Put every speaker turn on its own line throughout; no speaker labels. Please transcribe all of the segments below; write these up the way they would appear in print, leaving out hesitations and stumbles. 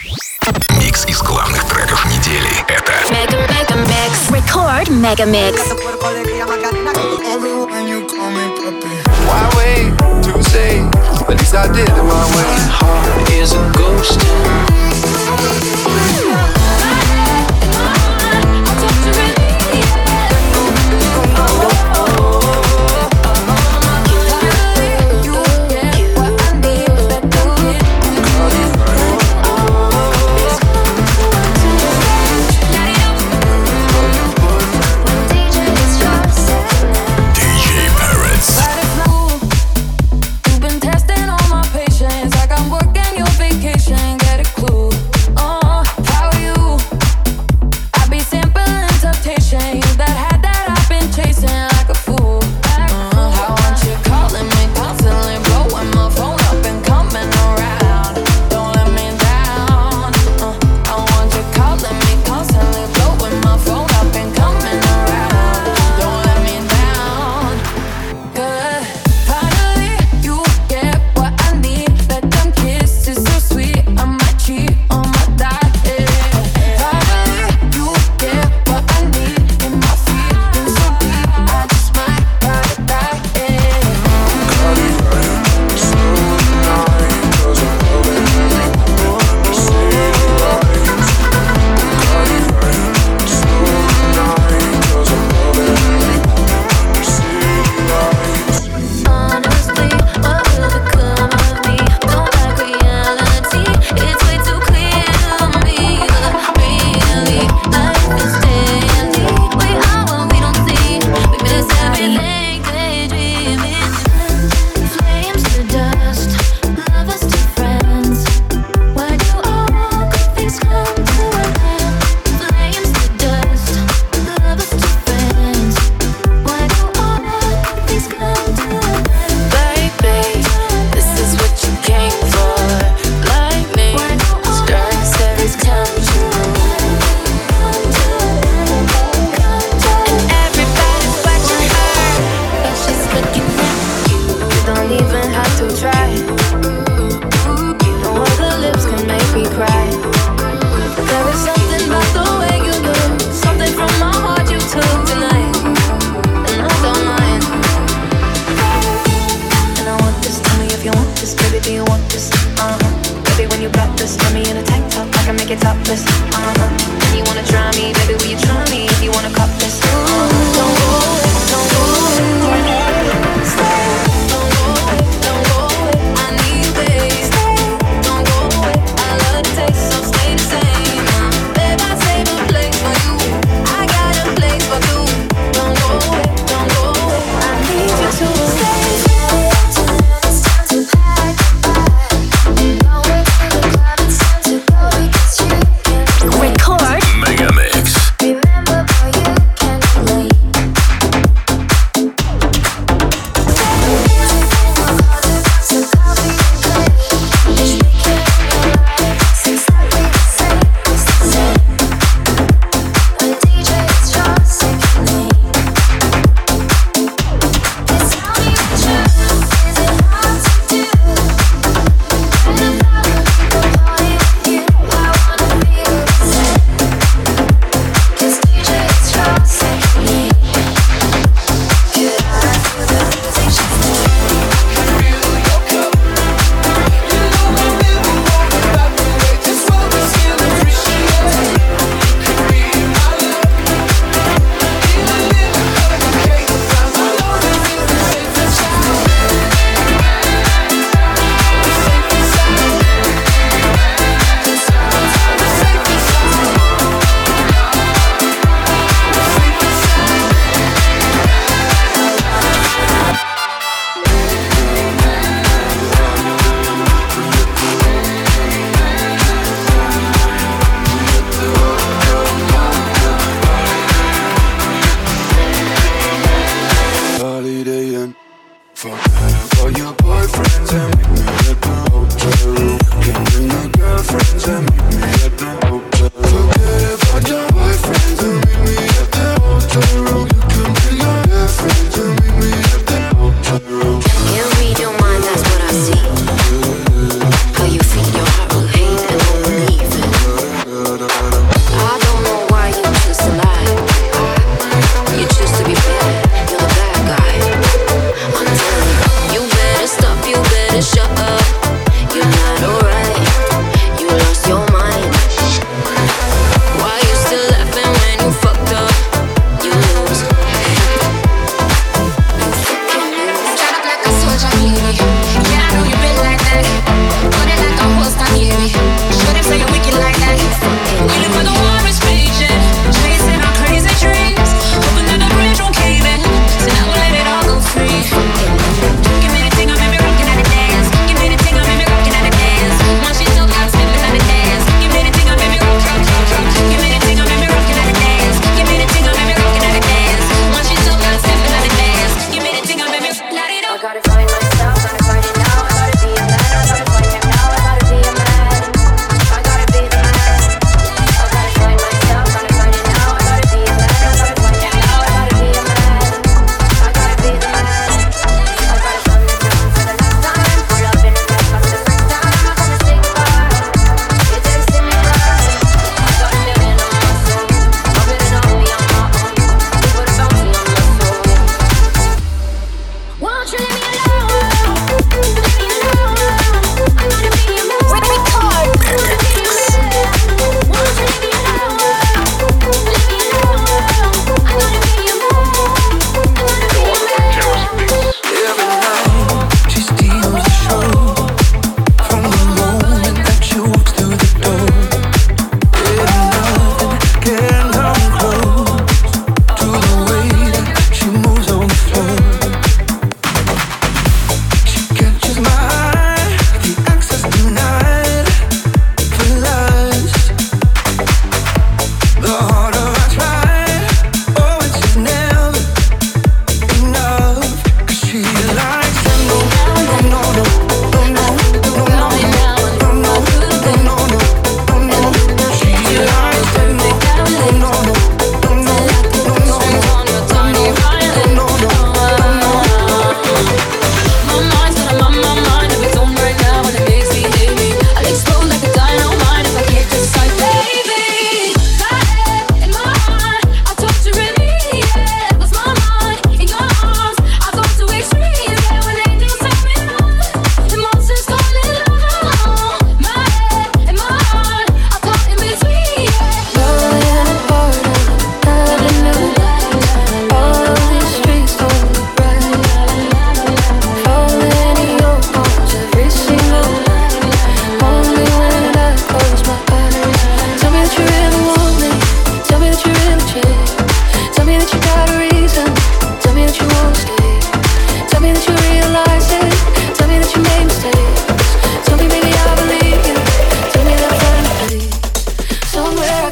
Микс из главных треков недели. Это
Record Mega Mix.
Why wait to say? At least I did it my way. Heart is a ghost.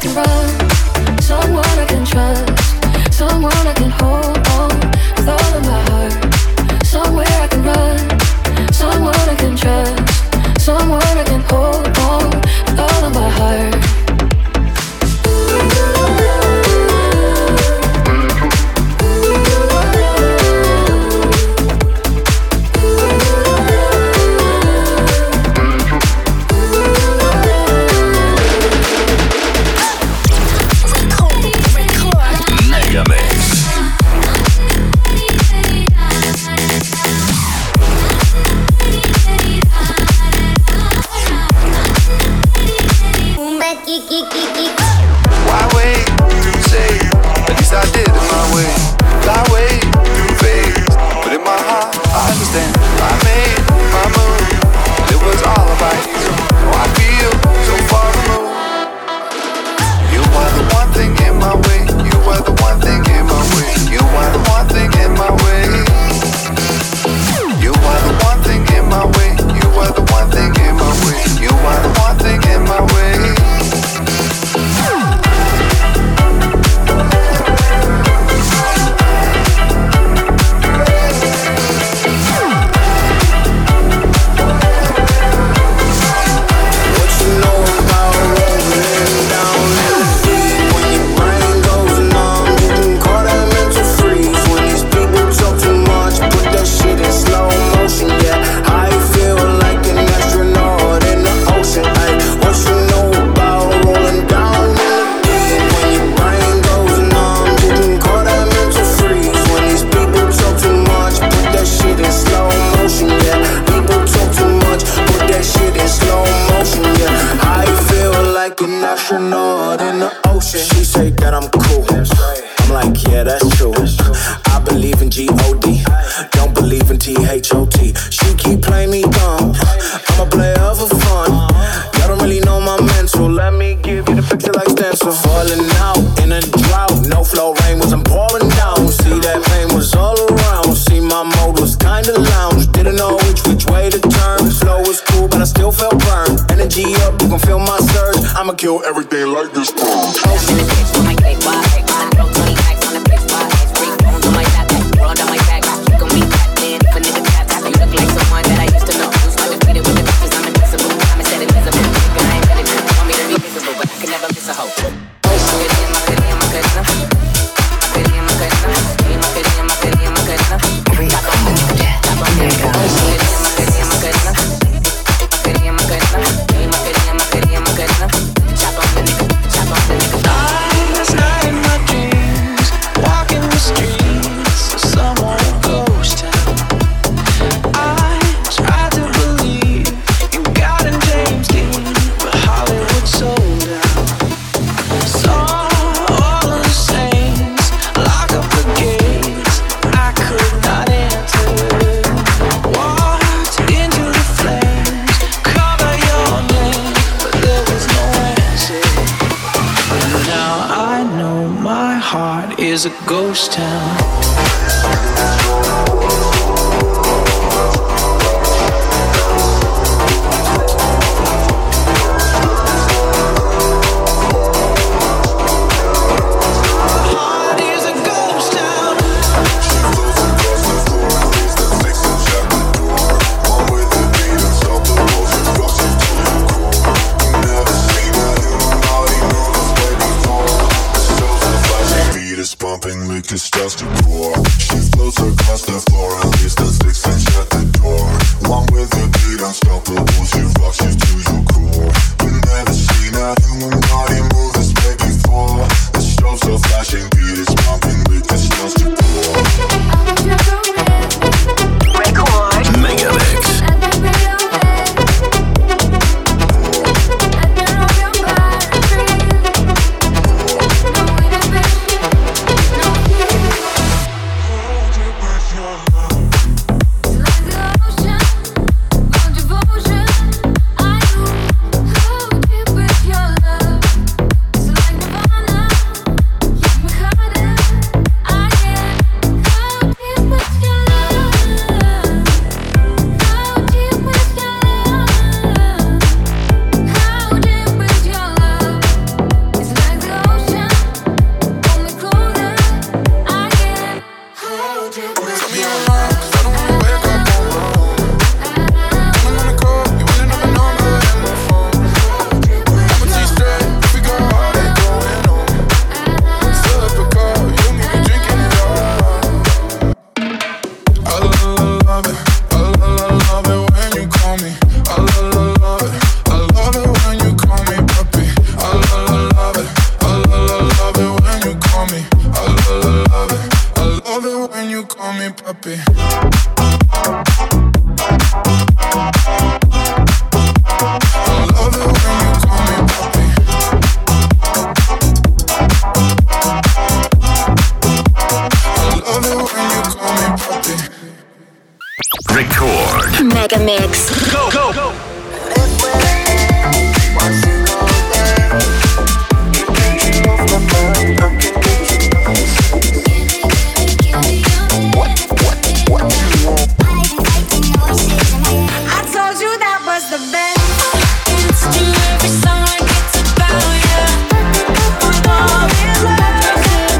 can run, someone I can trust, someone I can hold on with all of my heart. Somewhere I can run, someone I can trust, someone I can hold on with all of my heart.
Kill everything like this.
is a ghost town.
Liquor starts to pour. She floats across the floor and leaves the sticks and shut the door. Along with the beat unstoppable, she rocks you to your core. You've never seen a human body move this way before. The strobes are flashing, beat is pumping, liquor starts to pour.
Record Megamix.
Mega Mix.
Go, go, go.
I told you that was the best. It's to every song it's about you. With all this love.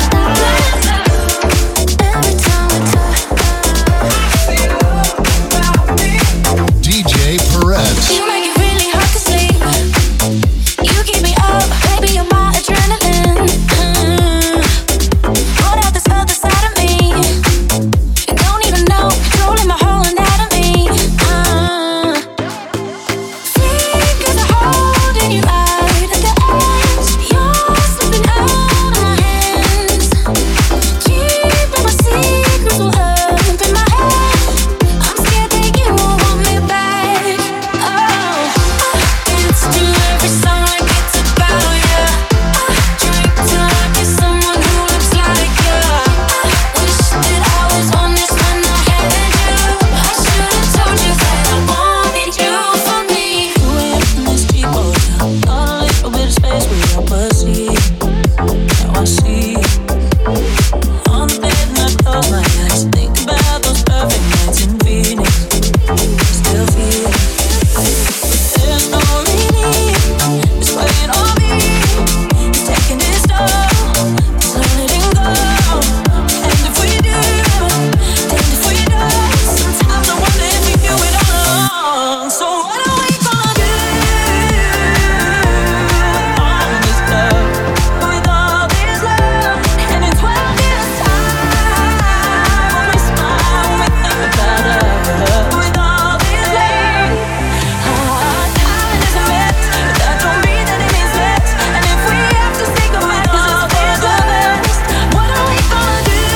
Every time we talk,
DJ Perez.
you make it really hard to sleep. You keep me up, baby, you're my adrenaline. Hold out this other side of me. You don't even know, controlling my whole anatomy. Fingers are holding you right at the edge. You're slipping out of my hands. Keeping my secrets all up in my head. I'm scared that you won't want me back. Oh, dance to every song like it's about you. Drink till I get someone who looks like you. Wish that I was on this when I had you. I should've told you that I wanted you for me. We're in this deep water, got a little bit of space with your pussy. Now I see on the bed and I close my eyes, think about those perfect nights in Phoenix. Still feel there's no relief. It's weighing on me. It's taking its toll. It's not letting go. And if we do, then if we don't, sometimes I wonder if we do it all along. So what are we gonna do with all this love? With all this love, and in 12 years' time, when we smile, when we think about us. With all this love, time is a myth, but that don't mean that it means less. And if we have to say goodbye, 'cause it's for the best, what are we gonna do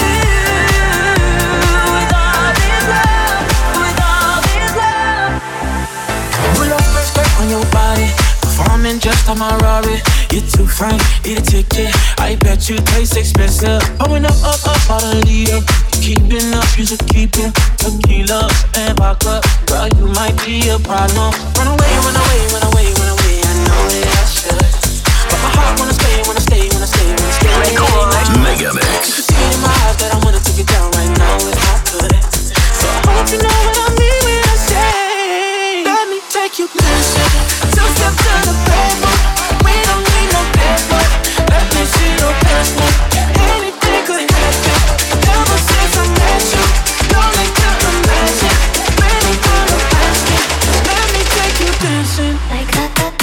with all this love? With all this love.
Pull up respect on your body. Performing just on my Rari. You're too fine, eat a ticket. I bet you taste expensive. Pouring up out a leader. Keeping up, you should keep it. Tequila and vodka. Girl, you might be a problem. Run away, run away, run away, run away. I know that I should. But my heart wanna stay, wanna stay, wanna stay, wanna stay.
Mega
You
Mix.
can see it in my eyes that I wanna take it down right now if I could. So I hope you know what I mean when I say, let me take you dancing. Two step to the pavement. We don't need no paper. Let me see your passport. Anything could happen. Ever since I met you, no need to imagine. Many times I'm asking, let me take you dancing.
Like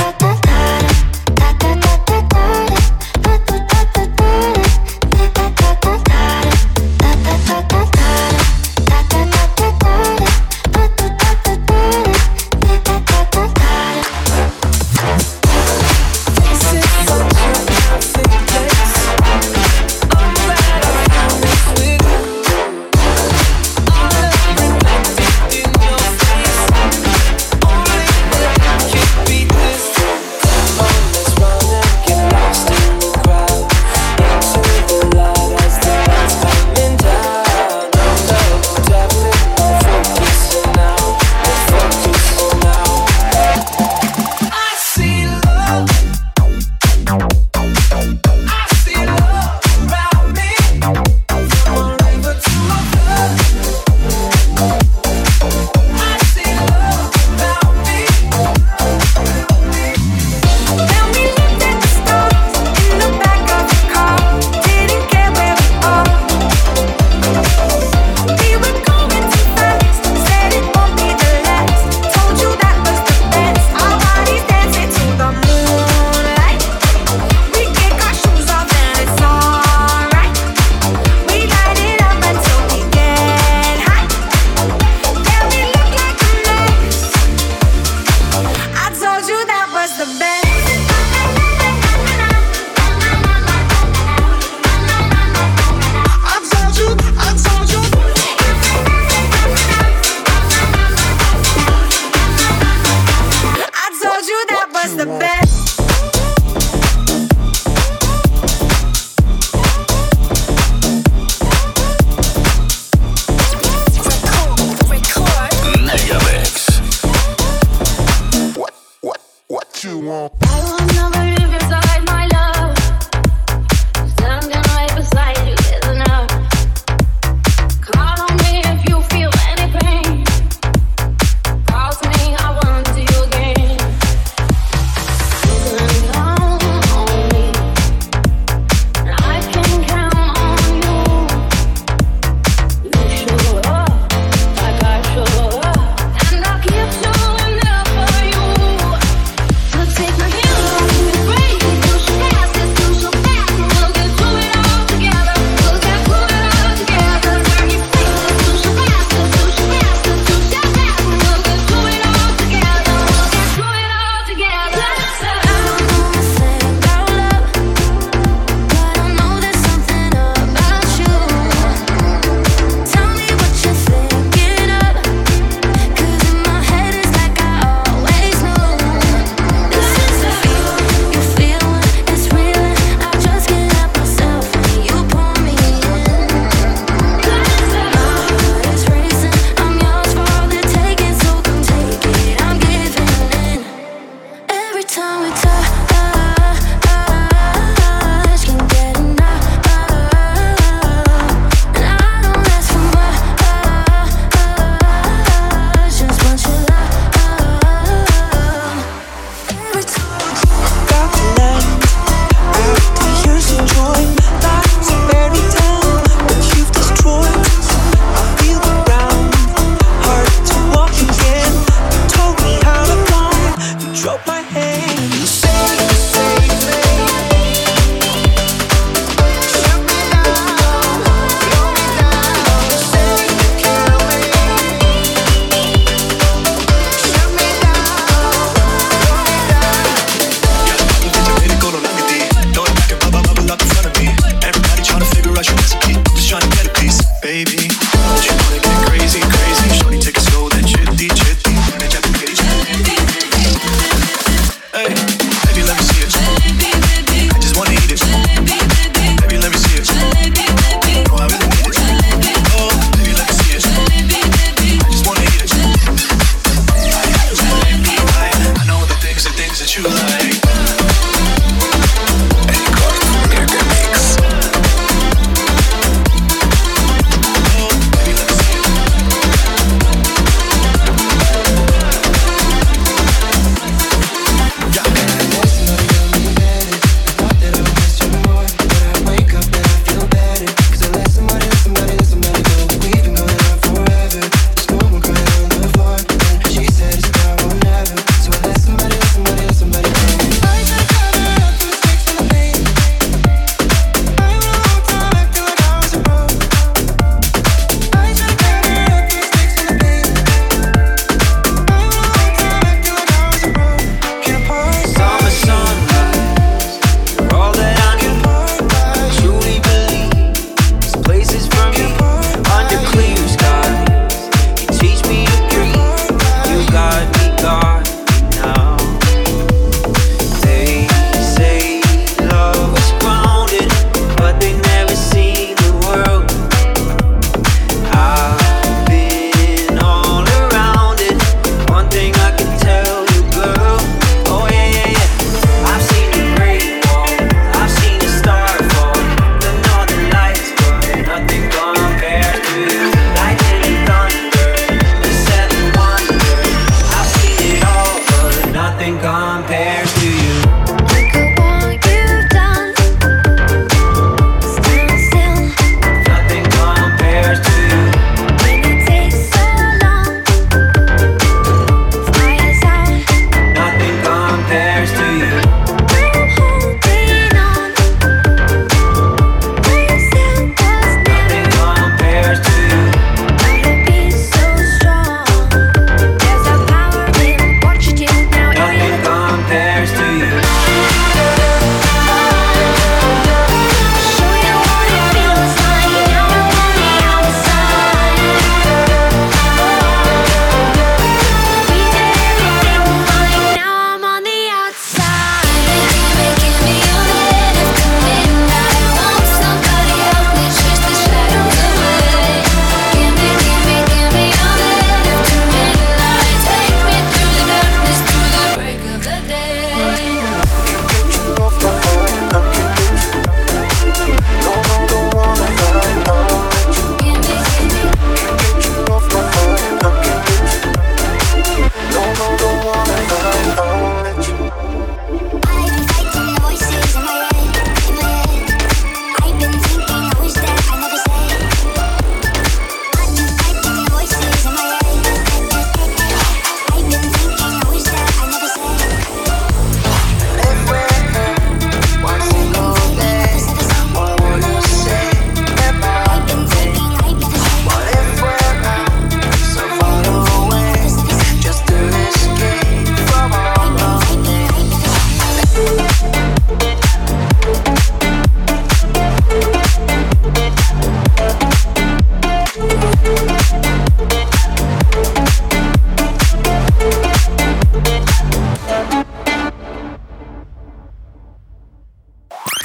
Take my hand off me, break it,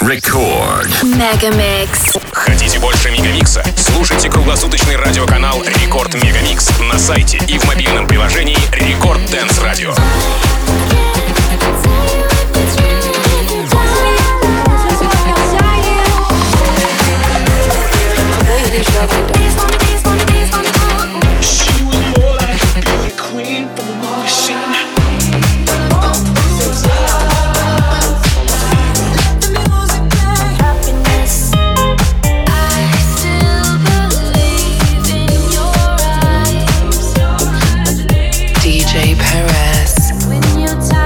Record
Megamix.
Хотите больше Мегамикса? Слушайте круглосуточный радиоканал Рекорд Мегамикс на сайте и в мобильном приложении Рекорд Dance Radio.
She was more like a beauty queen from a movie scene.
DJ Perez.
When you're tired.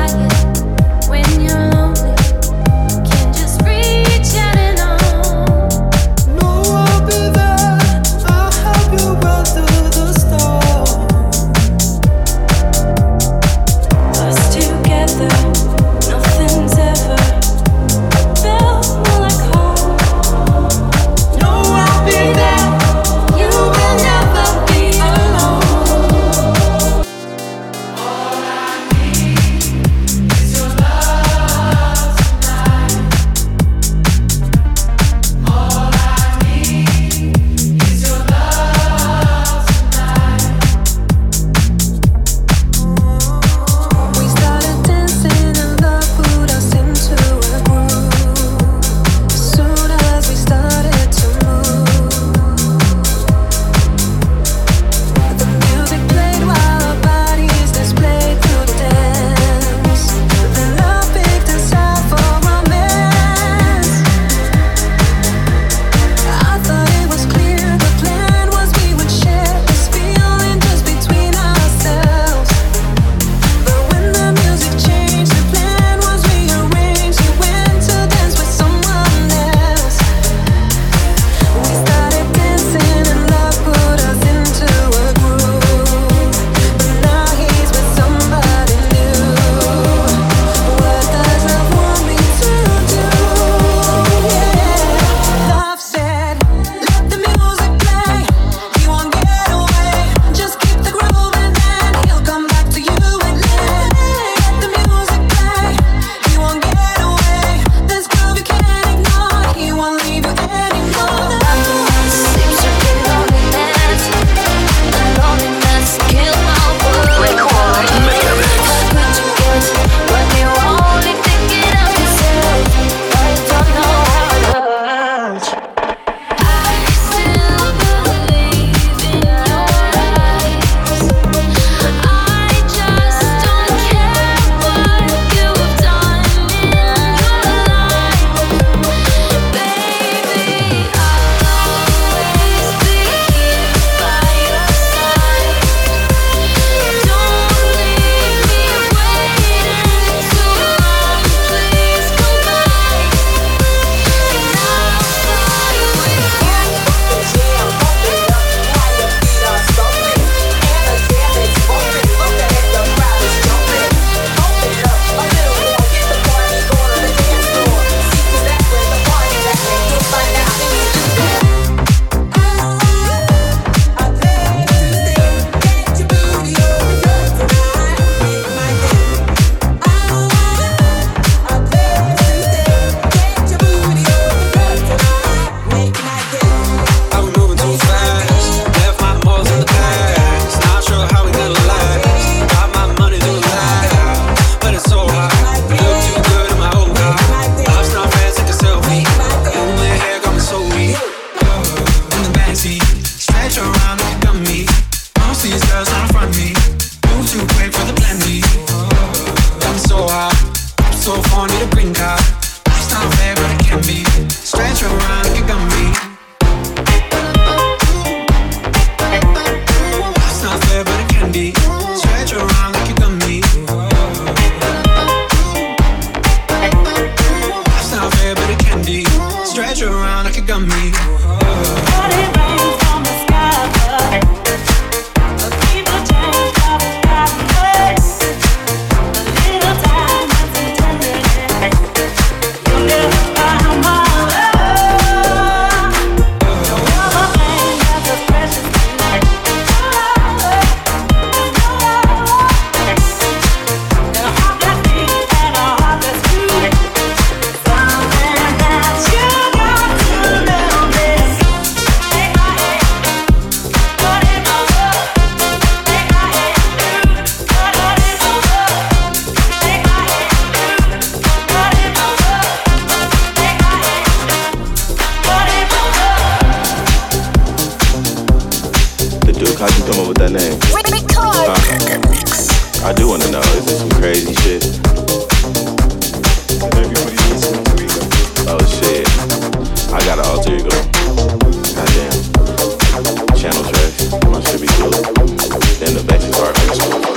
got an alter ego. Goddamn. Channel tracks. My shit be cool. Then the bass is hard.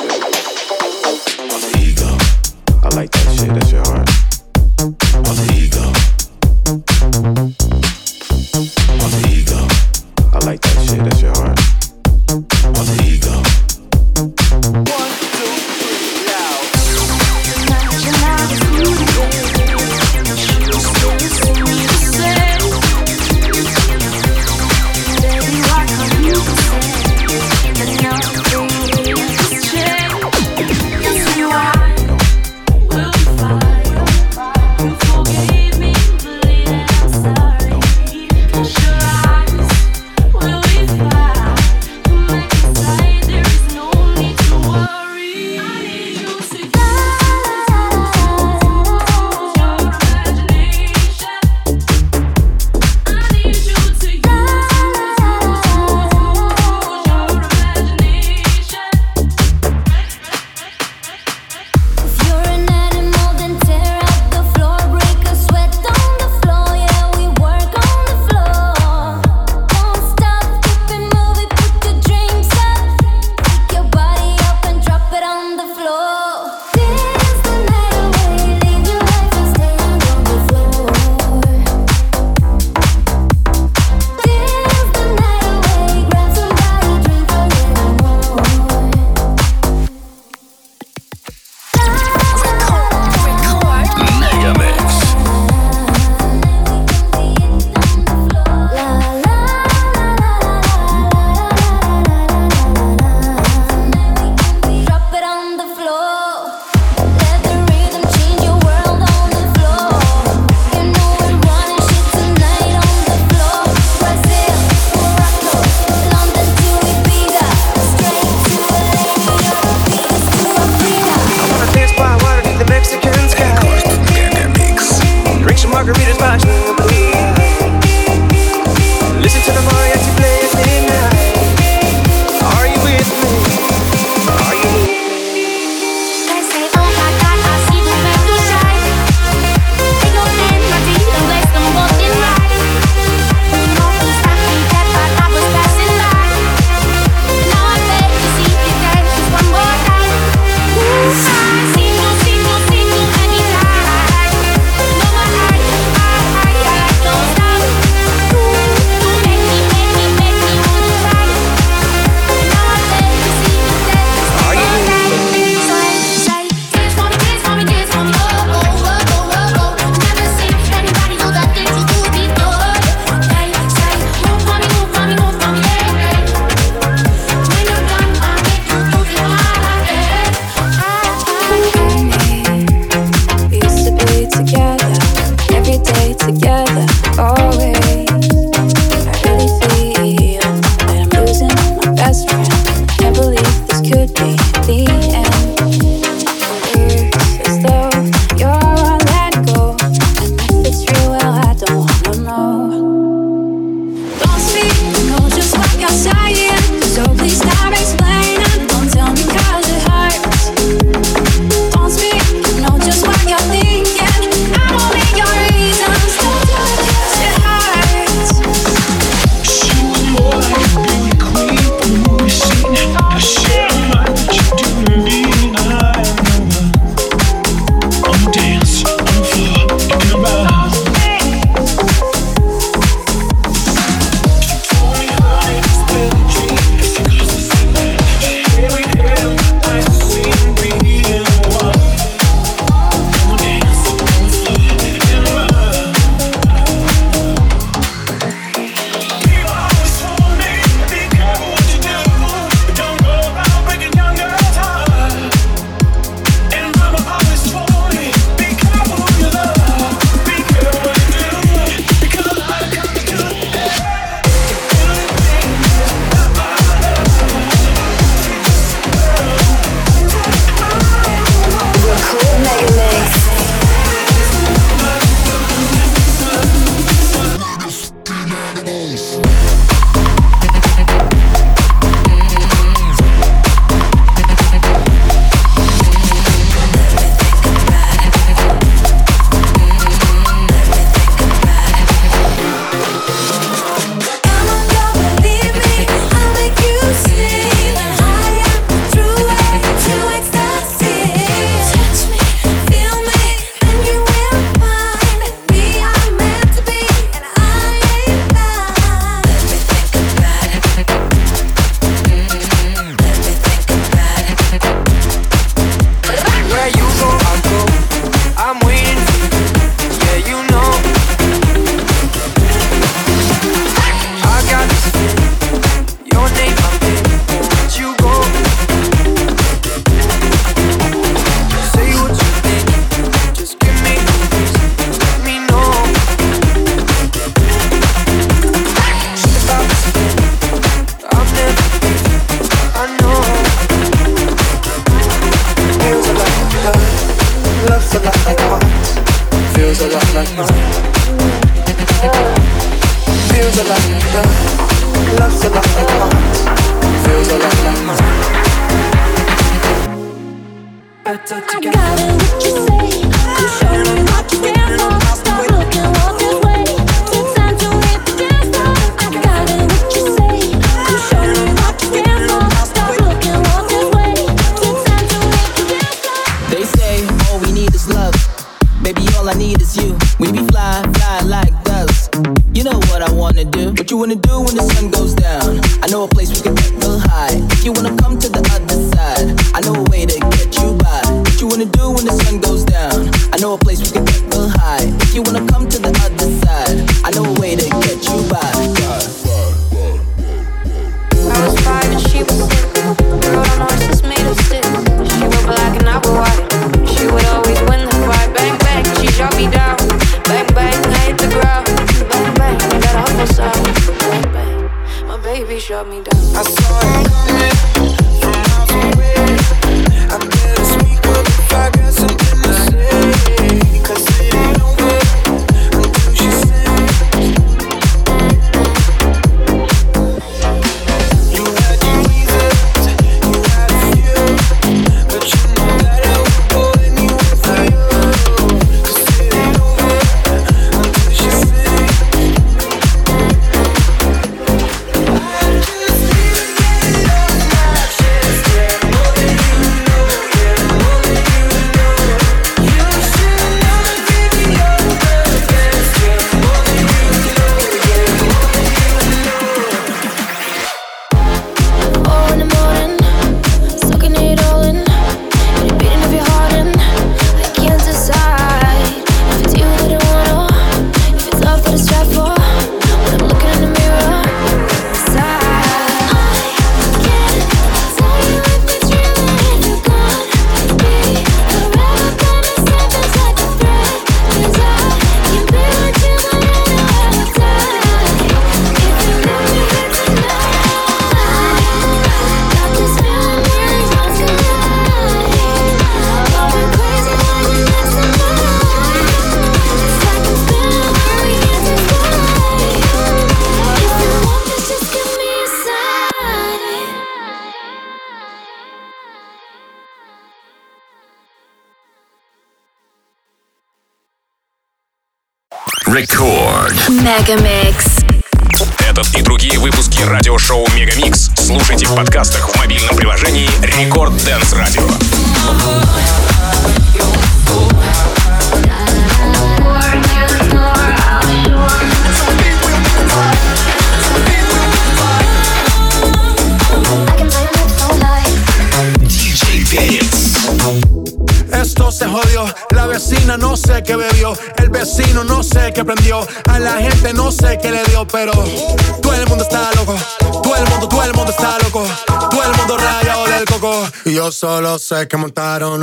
Alter ego. I like that shit. That shit hard. Alter ego. Alter ego. I like that shit. That shit hard. Alter ego. 1, 2, 3, loud.
Make me
Feels a lot like love. Love's a lot like hearts. Feels a lot like mine. Better together.
I got it, what you say. You show me what you stand for. Stop looking, walk this way. It's time to hit the dance floor. I got it, what you say. You show me what you stand for. Stop looking, walk this way. It's time to hit the dance floor.
They say all we need is love. Baby, all I need is you. We be fly, fly like doves. You know what I wanna do. What you wanna do when the sun goes down? I know a place we can get real high. If you wanna come to the other side, I know a way to get you by. What you wanna do when the sun goes down? I know a place we can get real high. If you wanna come to the other side, I know a way to get you by.
I was 5 and she was 6. We rode on horses made of sticks. She was black and I was white. She would always win the fight. Bang, bang, she shot me down. Bang, bang, I hit the ground. Bang, bang, I got a hustle sound. Bang, bang, my baby shot me down.
I saw it coming from miles away. I better speak up if I got something to say. 'Cause it ain't over until she sings. You had your reasons, you had a few, but you know that I would go anywhere for you. 'Cause it ain't over until she sings. I just need to get it off my chest, yeah. More than you know, yeah. More than you know. You should know that baby you're the best, yeah. More than you know, yeah. More than you know.
4 in the morning, soaking it all in. The beating of your heart and I can't decide if it's you that I wanna, if it's love that I strive for. When I'm looking in the mirror, inside I can't tell you if it's real or if you're gonna be forever by my side, just like a thread. 'Cause I can't be with you whenever I die. If you let me here tonight, got this feeling where it's not tonight. Going crazy when you're next to mine. It's like I'm spinning where we can't decide. If you want this, just give me a sign.
Record.
Megamix.
Этот и другие выпуски радиошоу Мегамикс слушайте в подкастах в мобильном приложении Рекорд Dance Radio.
Esto se jodió, la vecina no sé qué bebió, el vecino no sé qué prendió, a la gente no sé qué le dio, pero todo el mundo está loco, todo el mundo está loco, todo el mundo rayado del coco, y yo solo sé que montaron.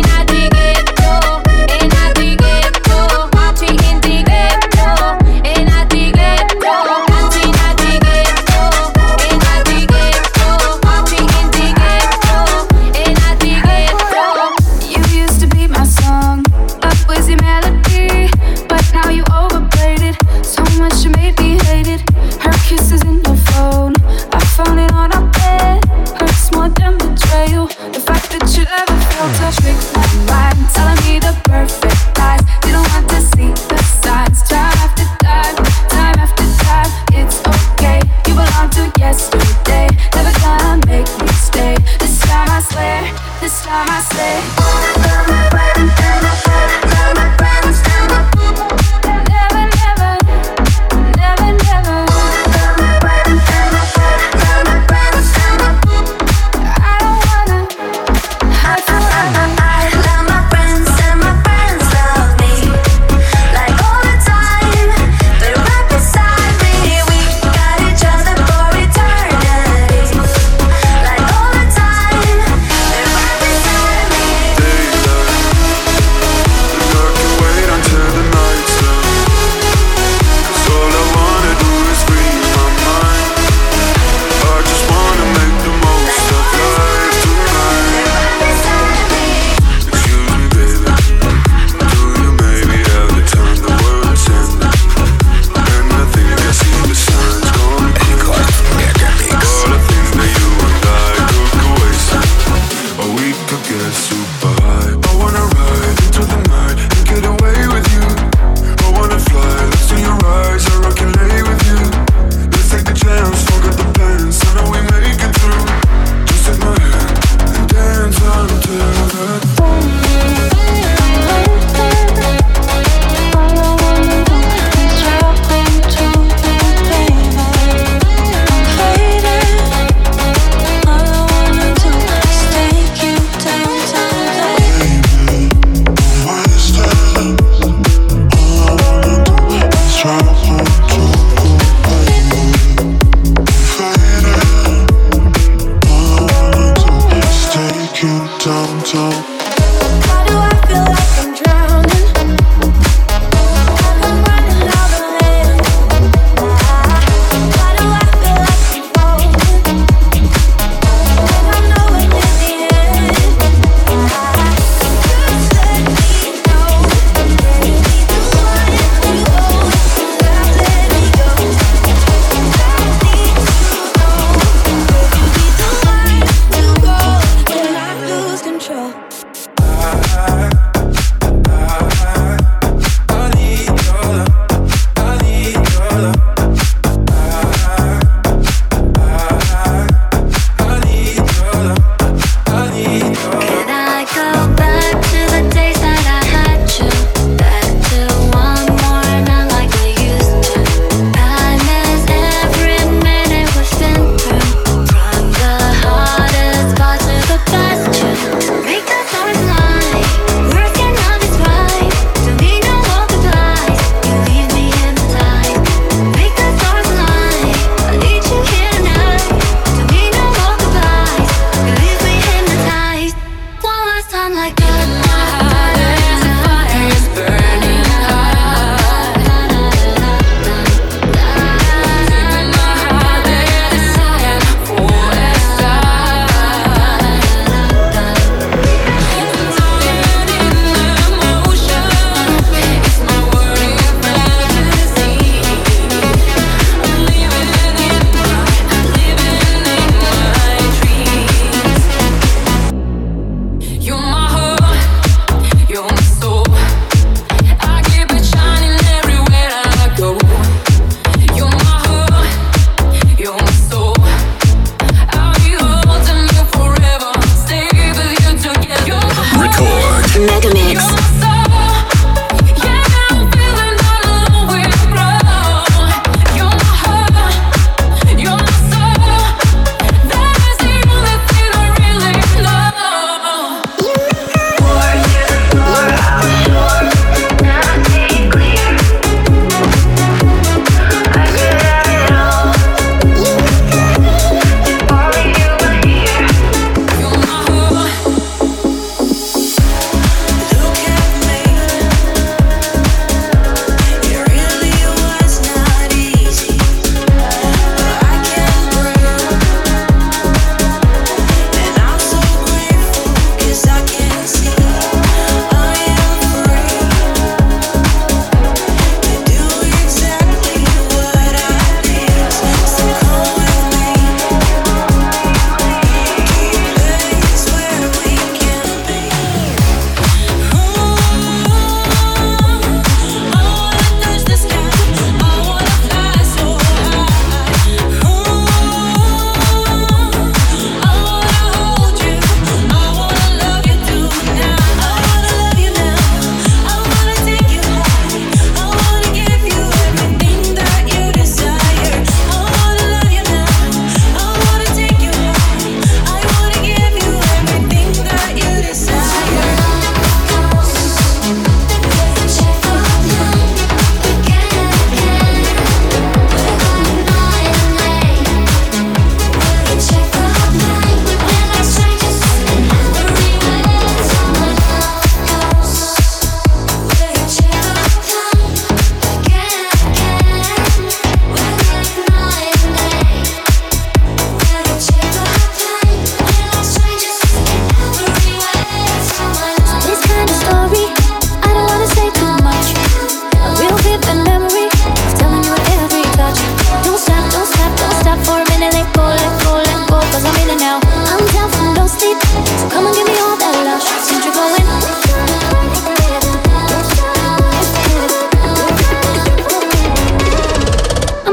Kisses in your phone, I found it on our bed. Hurts more than betrayal. The fact that you ever felt a trick my mind, telling me the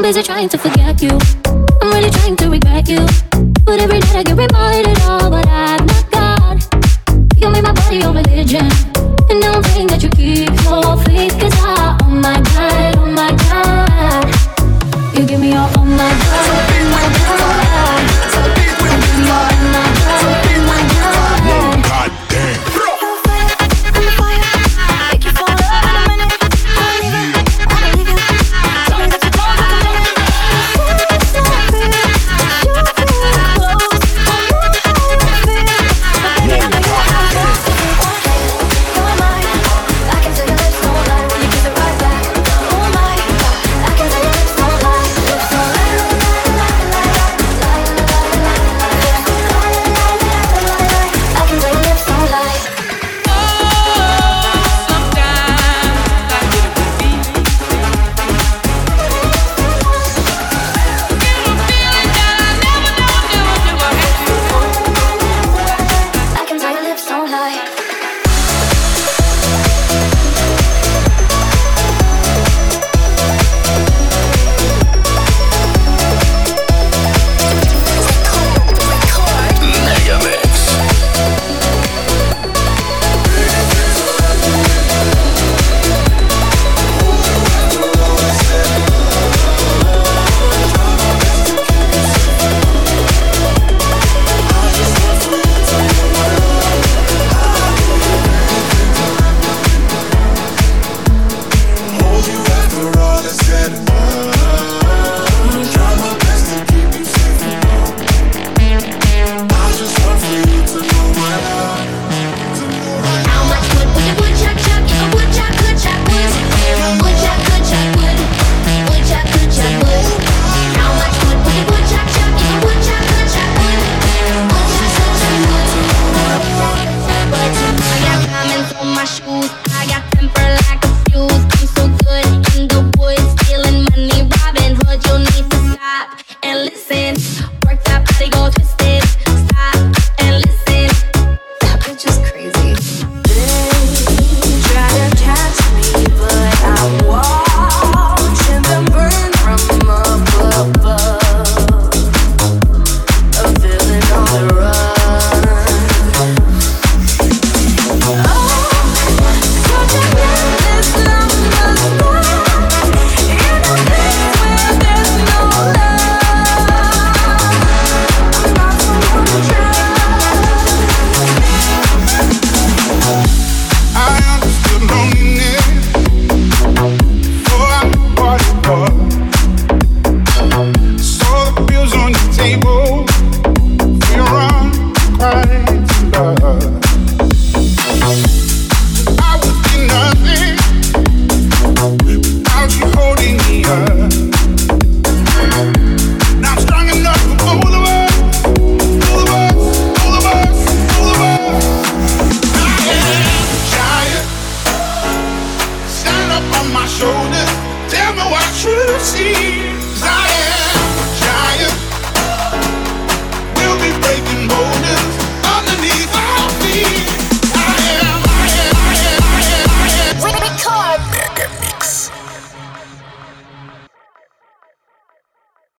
busy trying to forget you. I'm really trying to regret you. But every night I get reminded of what I've not got. You made my body your religion, and now I'm praying that you keep your faith. Cause I, oh my God, oh my God, you give me all, oh my God, oh my God, you give me all, oh my God, oh my God.
Whoa, goddamn.
Make you fall in love in a minute. I believe it, I believe you. Tell me that you don't like a minute.
Hold you after all is said and